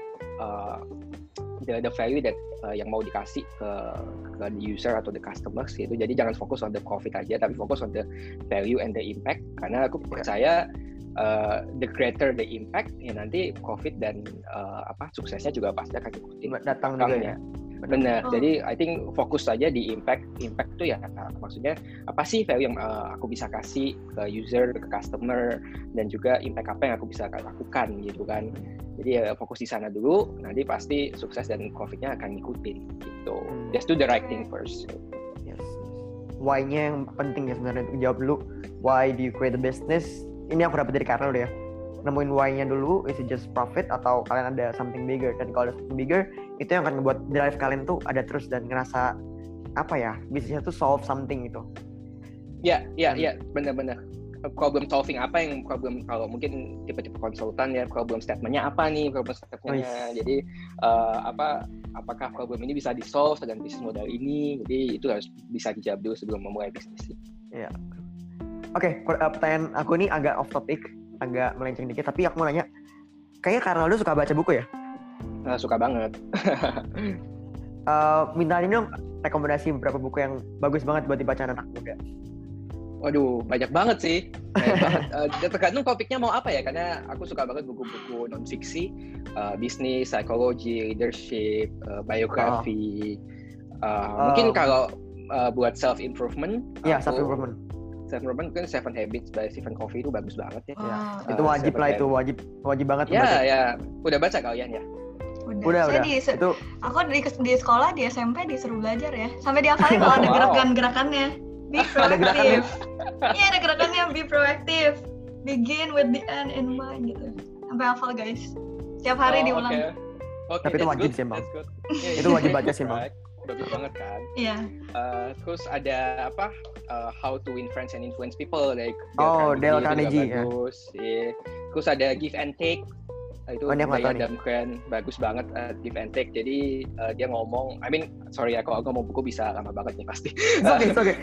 the value that yang mau dikasih ke the user atau the customers gitu. Jadi jangan fokus on the profit aja, tapi fokus on the value and the impact. Karena aku percaya the greater the impact, ya nanti profit dan suksesnya juga pasti akan ikutin datang juga ya. Benar. Jadi I think fokus saja di impact itu ya maksudnya apa sih value yang aku bisa kasih ke user, ke customer, dan juga impact apa yang aku bisa lakukan gitu kan. Jadi ya fokus di sana dulu, nanti pasti sukses dan profitnya akan ngikutin gitu. Just do the right thing first. Yes. why-nya yang penting ya sebenarnya untuk jawab dulu. Why do you create a business? Ini aku dapat dari Karnel ya. Nemuin why-nya dulu, is it just profit atau kalian ada something bigger? Dan kalau ada something bigger, itu yang akan membuat drive kalian tuh ada terus dan ngerasa apa ya, bisnisnya tuh solve something gitu. Ya, benar-benar. Problem solving apa yang problem, kalau mungkin tipe-tipe konsultan ya, problem statement-nya apa nih, problem statement-nya. Jadi apakah problem ini bisa di-solve dengan bisnis model ini? Jadi itu harus bisa dijawab dulu sebelum memulai bisnis. Iya. Oke, pertanyaan aku ini agak off topic, agak melenceng dikit, tapi aku mau nanya, kayaknya Karnaldo suka baca buku ya? Suka banget. Minta ini dong rekomendasi beberapa buku yang bagus banget buat dibaca anak muda. Waduh, banyak banget sih. Tergantung topiknya mau apa ya, karena aku suka banget buku-buku non-fiksi, bisnis, psikologi, leadership, biografi. Mungkin kalau buat self-improvement. Iya, self-improvement mungkin 7 Habits by Stephen Covey itu bagus banget ya. Itu wajib lah, itu wajib banget. Ya. Udah baca kalian ya? Udah. Itu aku di sekolah, di SMP disuruh belajar ya. Sampai dihafalin kalau ada gerakan-gerakannya. Be proactive. Iya, ada gerakannya, be proactive. Begin with the end in mind gitu. Sampai hafal guys. Setiap hari diulang. Okay, tapi itu wajib sih, Bang. Itu wajib baca sih, Bang. Bagus banget kan? Iya. Terus ada How to Influence and Influence People dari Dale Carnegie. Bagus. Yeah. Terus ada Give and Take. Itu dari Adam Grant, bagus banget, Give and Take. Jadi dia ngomong, sorry ya, kalau aku ngomong buku bisa lama banget nih pasti. It's okay.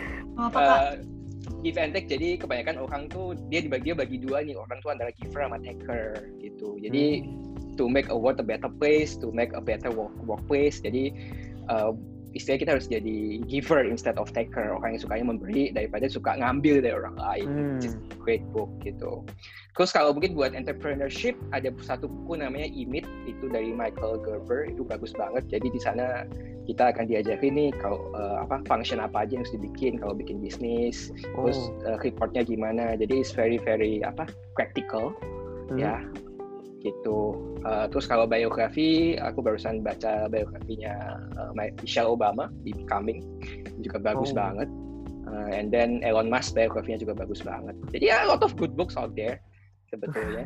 Give and take, jadi kebanyakan orang tuh dia bagi dua nih, orang tuh antara giver sama taker gitu. Jadi to make a world a better place, to make a better workplace. Jadi istilahnya kita harus jadi giver instead of taker, orang yang sukanya memberi daripada suka ngambil dari orang lain. Which is a great book gitu. Terus kalau mungkin buat entrepreneurship, ada satu buku namanya Emit, itu dari Michael Gerber, itu bagus banget. Jadi di sana kita akan diajarin nih kalau function apa aja yang harus dibikin kalau bikin bisnis, terus reportnya gimana. Jadi it's very practical ya gitu. Terus kalau biografi, aku barusan baca biografinya Michelle Obama di Becoming, juga bagus banget. And then Elon Musk biografinya juga bagus banget. Jadi a lot of good books out there sebetulnya.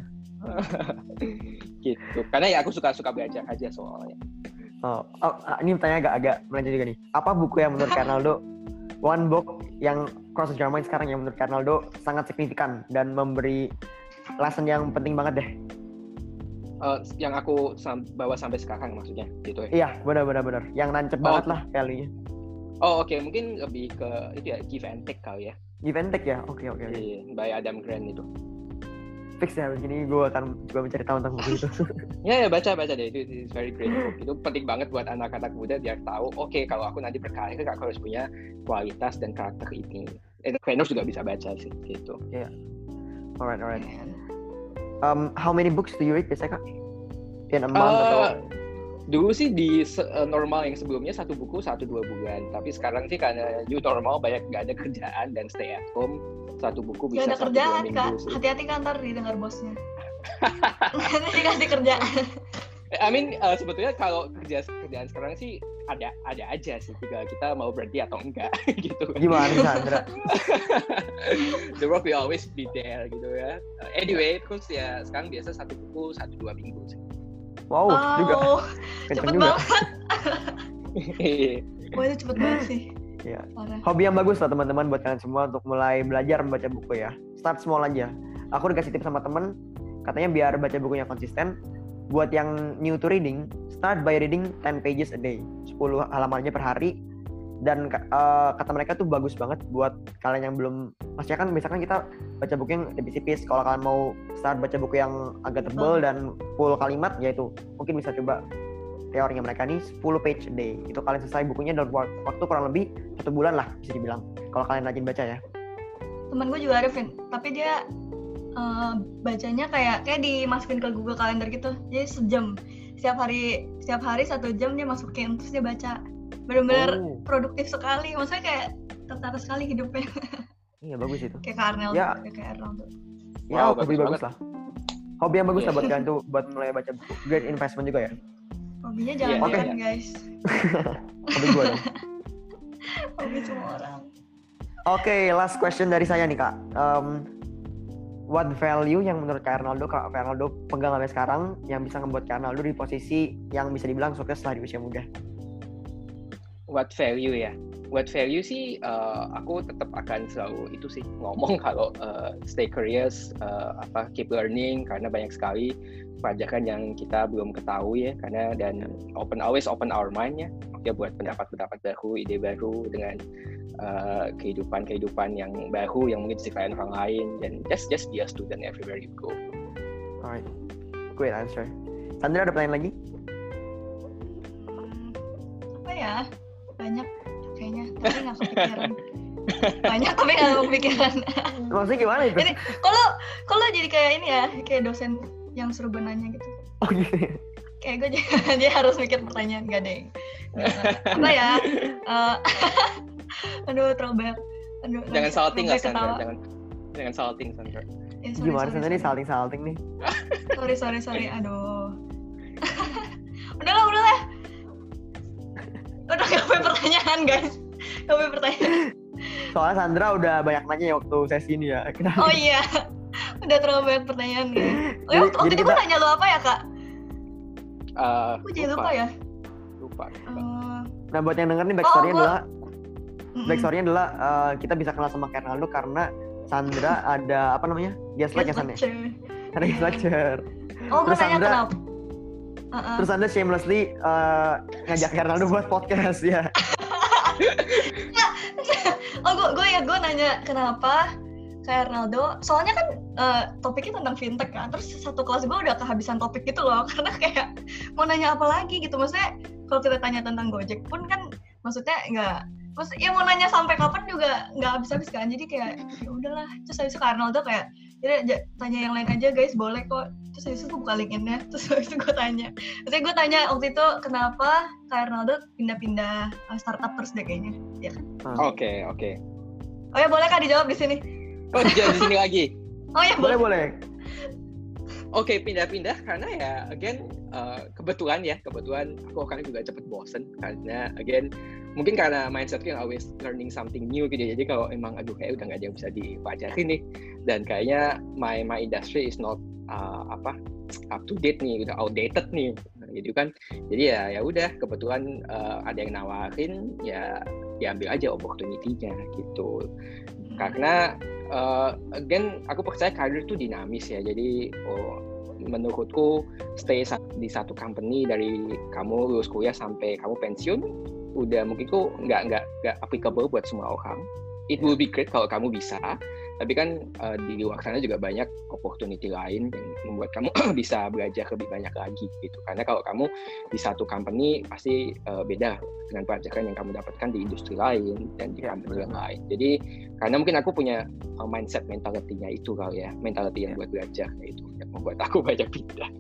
Gitu. Karena ya aku suka belajar aja soalnya. Ini pertanyaan agak melenceng juga nih. Apa buku yang menurut Karnaldo, one book yang cross your mind sekarang yang menurut Karnaldo sangat signifikan dan memberi lesson yang penting banget deh? Yang aku bawa sampai sekarang maksudnya gitu ya? Iya, benar. Yang nancep banget lah value-nya. Oke. Mungkin lebih ke itu ya, Give and Take kali ya. Give and Take ya? Oke. By Adam Grant itu. Fix ya, begini gue akan coba mencari tahu tentang buku itu. Ya baca deh, itu very great book. Itu penting banget buat anak-anak muda biar tahu, oke, kalau aku nanti berkarir, aku harus punya kualitas dan karakter ini. Entrepreneurs juga bisa baca sih, gitu. Yeah. Alright. How many books do you read biasanya, Kak? In a month atau? Dulu sih di normal yang sebelumnya 1 buku 1-2 bulan, tapi sekarang sih karena new normal banyak nggak ada kerjaan dan stay at home, 1 buku bisa 1-2 minggu. Gak ada kerjaan, Kak. Hati-hati kan ntar didengar bosnya. Nanti dikasih kerjaan. Sebetulnya kalau kerjaan sekarang sih ada aja sih, tinggal kita mau berhenti atau enggak gitu. Gimana Sandra? The work will always be there gitu ya. Anyway, terus ya sekarang biasa 1 buku 1-2 minggu sih. Wow, juga. Cepet banget. Wah, itu cepet banget sih. Ya. Hobi yang bagus lah teman-teman buat kalian semua untuk mulai belajar membaca buku ya. Start small aja. Aku dikasih tips sama temen, katanya biar baca bukunya konsisten. Buat yang new to reading, start by reading 10 pages a day. 10 halamannya per hari. Dan kata mereka tuh bagus banget buat kalian yang belum, maksudnya kan misalkan kita baca buku yang tipis-tipis, kalau kalian mau start baca buku yang agak tebal dan full kalimat, yaitu mungkin bisa coba teorinya mereka nih 10 page a day. Itu kalian selesai bukunya dalam waktu kurang lebih 1 bulan lah bisa dibilang, kalau kalian rajin baca ya. Temen gue juga ada, Vin, tapi dia bacanya kayak dimasukin ke Google Calendar gitu, jadi sejam setiap hari 1 jam dia masukin, terus dia baca. Benar-benar produktif sekali, maksudnya kayak tertata sekali hidupnya. Iya, bagus itu. Kayak Karnel ya. Kayak Arnold tuh. Ya, hobi bagus lah. Hobi yang bagus lah buat kalian tuh, buat mulai baca buku. Great investment juga ya. Hobinya jangan guys. Hobi gue dong. Hobi semua orang. Oke, last question dari saya nih Kak. What value yang menurut Kak Ronaldo pegang sampai sekarang yang bisa membuat Kak Ronaldo di posisi yang bisa dibilang sukses setelah di usia muda? What value ya? What value sih aku tetap akan selalu itu sih ngomong kalau stay curious, keep learning karena banyak sekali pelajaran yang kita belum ketahui ya karena dan always open our mind ya buat pendapat-pendapat baru, ide baru dengan kehidupan yang baru yang mungkin diceritain orang lain dan just be a student everywhere you go. Alright, great answer. Sandra ada pertanyaan lagi? Apa ya? Banyak kayaknya, tapi nggak kepikiran. Banyak tapi nggak kepikiran. Maksudnya gimana itu? Ini kalau jadi kayak ini ya, kayak dosen yang suruh nanya gitu. Oh gitu. Kayak gue dia harus mikir pertanyaan, gak deh. Apa ya? Aduh, throwback. Aduh, jangan salting lah Sandra, jangan salting Sandra. Gimana Sandra nih salting nih? Sorry, aduh. Udahlah. Udah gak punya pertanyaan guys. Gak punya pertanyaan. Soalnya Sandra udah banyak nanya ya waktu sesi ini ya. Oh iya. Udah terlalu banyak pertanyaan guys. Waktu itu gue nanya lo apa ya Kak? Gue jadi lupa ya. Lupa. Nah buat yang denger nih backstory-nya adalah kita bisa kenal sama Kak Ronaldo karena Sandra ada apa namanya? Guest lecture. Ada guest lecture. Oh gue tanya kenapa? Terus Anda shamelessly ngajak Ronaldo buat podcast ya. Gue nanya kenapa kayak Ronaldo. Soalnya kan topiknya tentang fintech kan. Terus satu kelas gue udah kehabisan topik gitu loh. Karena kayak mau nanya apa lagi gitu. Maksudnya kalau kita tanya tentang Gojek pun kan maksudnya mau nanya sampai kapan juga nggak habis-habis kan. Jadi kayak ya udahlah. Terus habis itu Kak Ronaldo kayak tanya yang lain aja guys, boleh kok. Terus habis itu gue buka LinkedIn-nya, terus habis itu gue tanya. Maksudnya gue tanya waktu itu kenapa Kak Ronaldo pindah-pindah startup terus deh kayaknya, ya kan? Oke. Oh ya boleh Kak dijawab di sini? Oh dijawab di sini lagi? Oh ya boleh. Oke, pindah-pindah karena ya again kebetulan aku akan juga cepet bosen karena again mungkin karena mindsetku yang always learning something new gitu ya. Jadi kalau emang kayak udah nggak ada yang bisa dipelajari nih dan kayaknya my industry is not up to date nih, udah outdated nih gitu kan. Jadi ya udah kebetulan ada yang nawarin ya diambil aja opportunity-nya gitu. Karena again aku percaya karir itu dinamis ya. Jadi menurutku stay di satu company dari kamu lulus kuliah sampai kamu pensiun udah mungkin kok nggak applicable buat semua orang. It will be great kalau kamu bisa, tapi kan di luar sana juga banyak opportunity lain yang membuat kamu bisa belajar lebih banyak lagi gitu. Karena kalau kamu di satu company pasti beda dengan pelajaran yang kamu dapatkan di industri lain dan di company yang lain. Jadi karena mungkin aku punya mindset mentality-nya itu kali ya, mentality yang buat belajar itu yang membuat aku banyak pindah.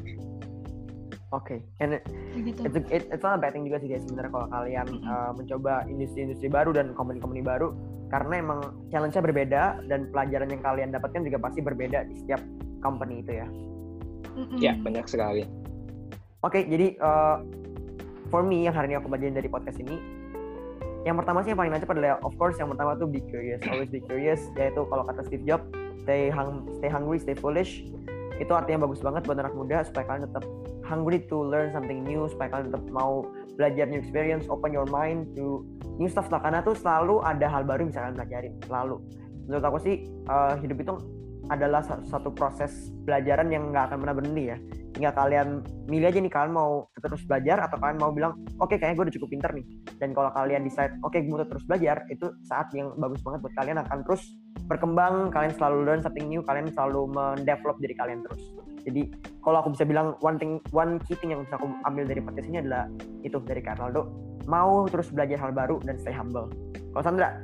Oke, and it's not a bad thing juga sih guys sebenarnya kalau kalian mencoba industri-industri baru dan company-company baru karena emang challenge-nya berbeda dan pelajaran yang kalian dapatkan juga pasti berbeda di setiap company itu ya. Ya, benar sekali. Oke, jadi for me yang hari ini aku bagian dari podcast ini, yang pertama sih yang paling nancep adalah of course yang pertama tuh be curious, always be curious, yaitu kalau kata Steve Jobs, stay hungry, stay foolish. Itu artinya bagus banget buat anak muda supaya kalian tetap hungry to learn something new, supaya kalian tetap mau belajar new experience, open your mind to new stuff lah. Karena tuh selalu ada hal baru yang bisa kalian pelajarin, selalu. Menurut aku sih hidup itu adalah satu proses pelajaran yang nggak akan pernah berhenti ya. Tinggal kalian milih aja nih, kalian mau terus belajar atau kalian mau bilang oke, kayaknya gue udah cukup pinter nih. Dan kalau kalian decide gue mau terus belajar, itu saat yang bagus banget buat kalian akan terus berkembang, kalian selalu learn something new, kalian selalu mendevelop diri kalian terus. Jadi kalau aku bisa bilang one key thing yang bisa aku ambil dari podcast ini adalah itu dari Kak Ronaldo, mau terus belajar hal baru dan stay humble. Kalau Sandra?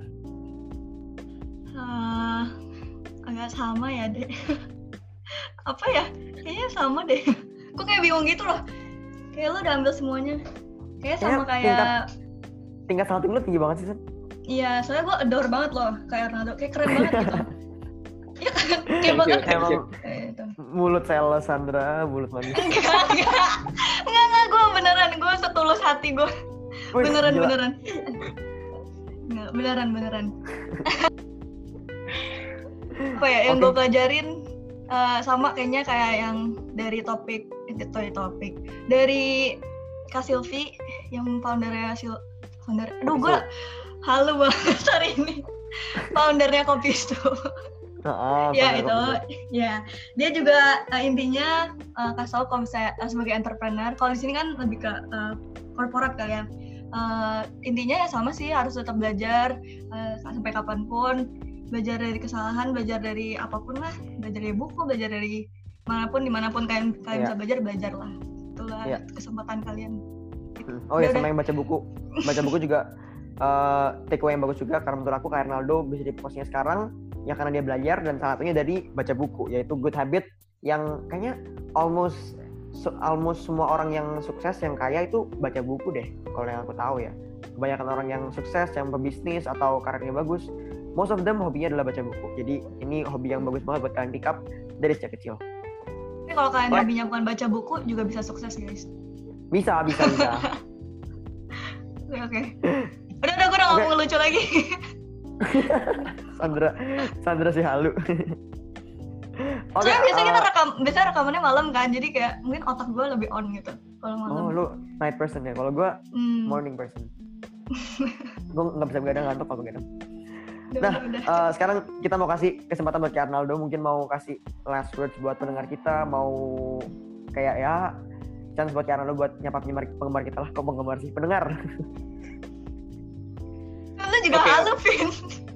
Agak sama ya deh. Apa ya? Kayaknya sama deh. Kok kayak bingung gitu loh. Kayak lo udah ambil semuanya. Kayak sama kayak tingkat salting lo tinggi banget sih, San. Iya, soalnya gue adore banget loh kayak Ronaldo. Kayak keren banget gitu. Iya kan? Kayak banget. Mulut sales Sandra, mulut manis. Enggak, gue beneran. Gue setulus hati gue. Beneran. beneran. Apa ya yang gue pelajarin sama kayaknya kayak yang dari topik dari Kak Silvi yang foundernya gue halu banget hari ini, foundernya Kopistu. Ya itu ya dia juga intinya kasih tahu kalau misalnya sebagai entrepreneur, kalau di sini kan lebih ke korporat kali ya, intinya ya sama sih, harus tetap belajar sampai kapanpun, belajar dari kesalahan, belajar dari apapun lah, belajar dari buku, belajar dari dimanapun kalian bisa belajar lah, itulah kesempatan kalian. Oh ya, sama yang baca buku juga take away yang bagus juga, karena menurut aku Kak Ernaldo bisa di posisinya sekarang ya karena dia belajar, dan salah satunya dari baca buku, yaitu good habit yang kayaknya almost semua orang yang sukses, yang kaya itu baca buku deh, kalau yang aku tahu ya. Kebanyakan orang yang sukses, yang pebisnis atau karirnya bagus, most of them hobinya adalah baca buku. Jadi ini hobi yang bagus banget buat kalian pick up dari sejak kecil. Tapi kalau kalian hobinya bukan baca buku juga bisa sukses guys. Bisa. Oke. Udah gue udah ngomong lucu lagi. Sandra si halu. Soalnya biasanya rekamannya malam kan, jadi kayak mungkin otak gue lebih on gitu kalau malam. Oh, lu night person ya? Kalau gue morning person. Gue nggak bisa begadang, ngantuk kalau begadang. Nah, sekarang kita mau kasih kesempatan buat Kak Ernaldo, mungkin mau kasih last words buat pendengar kita, mau kayak ya chance buat Kak Ernaldo buat nyapa penggemar kita lah. Kok penggemar sih? Pendengar. Lu juga halu, Vin.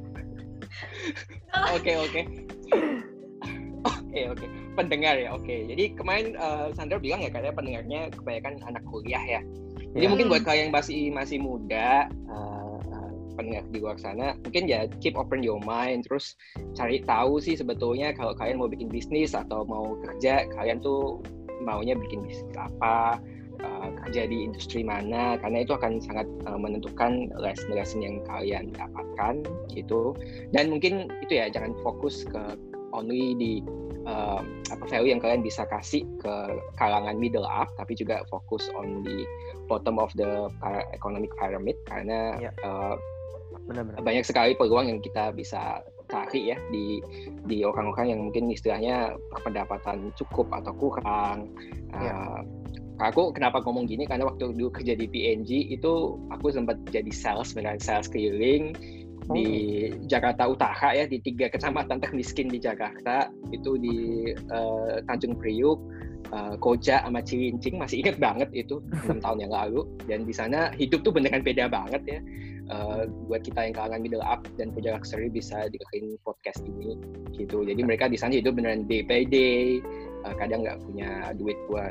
Oke. Pendengar ya, oke. Jadi kemarin Sandra bilang ya katanya pendengarnya kebanyakan anak kuliah ya. Jadi mungkin buat kalian yang masih muda, pendengar di luar sana, mungkin ya keep open your mind, terus cari tahu sih sebetulnya kalau kalian mau bikin bisnis atau mau kerja, kalian tuh maunya bikin bisnis apa, kerja di industri mana, karena itu akan sangat menentukan lesson yang kalian dapatkan gitu. Dan mungkin itu ya, jangan fokus ke only di value yang kalian bisa kasih ke kalangan middle up, tapi juga fokus on the bottom of the economic pyramid, karena benar-benar banyak sekali peluang yang kita bisa cari ya di orang-orang yang mungkin istilahnya pendapatan cukup atau kurang. Aku kenapa ngomong gini, karena waktu dulu kerja di PNG itu aku sempat jadi sales keliling di Jakarta Utara ya, di 3 kecamatan termiskin di Jakarta, itu di Tanjung Priuk, Koja sama Cilincing, masih inget banget itu 6 tahun yang lalu. Dan di sana hidup tuh beneran beda banget ya. Buat kita yang kalangan middle up dan punya luxury bisa dengerin podcast ini gitu. Jadi mereka di sana hidup beneran day by day, kadang nggak punya duit buat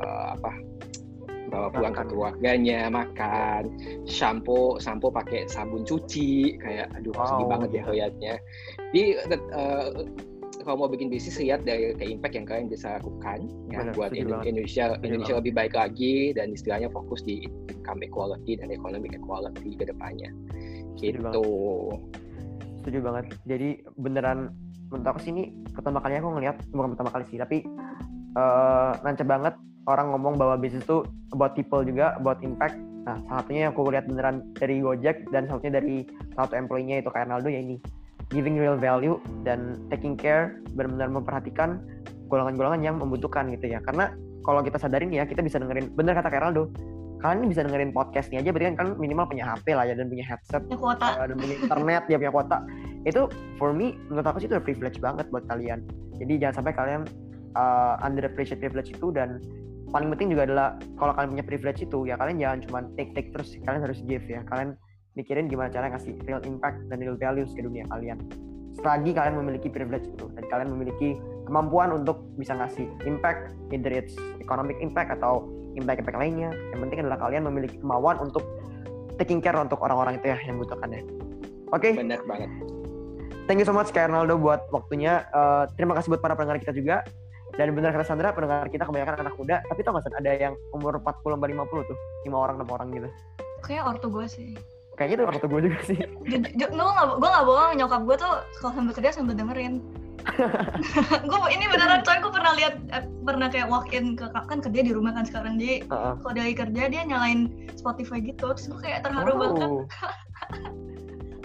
bawa pulang ke keluarganya, makan, shampoo pakai sabun cuci, kayak sedih banget ya lihatnya. Jadi kalau mau bikin bisnis, lihat dari impact yang kalian bisa lakukan ya, buat Indonesia lebih baik lagi, dan istilahnya fokus di income equality dan economic equality ke depannya gitu. Setuju banget. Jadi beneran menurut aku sih ini pertama kali aku ngelihat, bukan pertama kali sih, tapi nancep banget orang ngomong bahwa bisnis itu about people juga, about impact. Nah, salah satunya yang aku lihat beneran dari Gojek, dan salah satunya dari salah satu employee-nya itu Kak Ernaldo, ya ini giving real value dan taking care, benar-benar memperhatikan golongan-golongan yang membutuhkan gitu ya. Karena kalau kita sadarin ya, kita bisa dengerin, bener kata Kak Ernaldo, kalian bisa dengerin podcast nih aja, berarti kan minimal punya HP lah ya, dan punya headset, dan punya internet, dia punya kuota. Itu for me, menurut aku sih itu privilege banget buat kalian. Jadi jangan sampai kalian underappreciate privilege itu, dan paling penting juga adalah kalau kalian punya privilege itu ya kalian jangan cuma take terus, kalian harus give ya. Kalian mikirin gimana cara ngasih real impact dan real values ke dunia kalian. Selagi kalian memiliki privilege itu dan kalian memiliki kemampuan untuk bisa ngasih impact, either it's economic impact atau impact lainnya, yang penting adalah kalian memiliki kemauan untuk taking care untuk orang-orang itu ya yang membutuhkannya. Oke. Benar banget. Thank you so much Kak Ernaldo buat waktunya. Terima kasih buat para pendengar kita juga. Dan benar kata Sandra, pendengar kita kebanyakan anak muda, tapi tau gak San, ada yang umur 40-50 tuh, 5 orang, 6 orang gitu. Kayak ortu gue sih. Kayaknya tuh ortu gue juga sih. Gue gak bohong, nyokap gue tuh kalau sambil kerja sambil dengerin. Gue ini beneran, soalnya gue pernah kayak walk in ke, kan kerja di rumah kan sekarang, jadi kalau dia lagi kerja dia nyalain Spotify gitu, terus gue kayak terharu banget.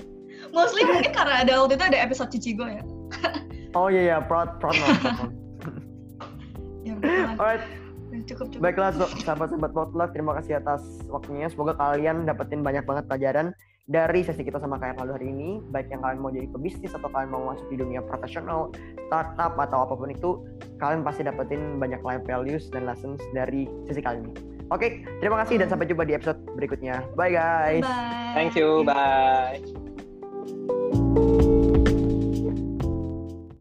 Mostly mungkin karena waktu itu ada episode Cichigo ya. Oh iya, proud mom. Ya betul. Alright. Cukup. Baiklah sahabat-sahabat Potluck, terima kasih atas waktunya. Semoga kalian dapetin banyak banget pelajaran dari sesi kita sama kayak Kaldo hari ini. Baik yang kalian mau jadi pebisnis atau kalian mau masuk di dunia profesional, startup atau apapun itu, kalian pasti dapetin banyak life values dan lessons dari sesi kali ini. Oke, terima kasih dan sampai jumpa di episode berikutnya. Bye guys. Bye. Thank you, bye.